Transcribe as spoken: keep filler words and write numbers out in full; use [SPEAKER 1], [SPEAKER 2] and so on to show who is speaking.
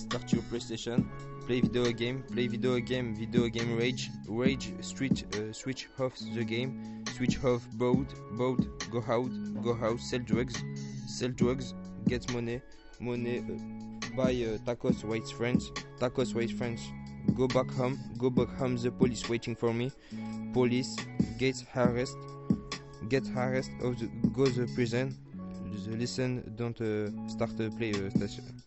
[SPEAKER 1] start your PlayStation, play video game, play video game, video game rage, rage, switch, uh, switch off the game, switch off boat, boat, go out, go out, sell drugs, sell drugs, get money, money, uh, buy uh, tacos, white friends, tacos, white friends, go back home, go back home, the police waiting for me, police, get arrest, get arrest, of the, go the prison, the listen, don't uh, start to play uh, station.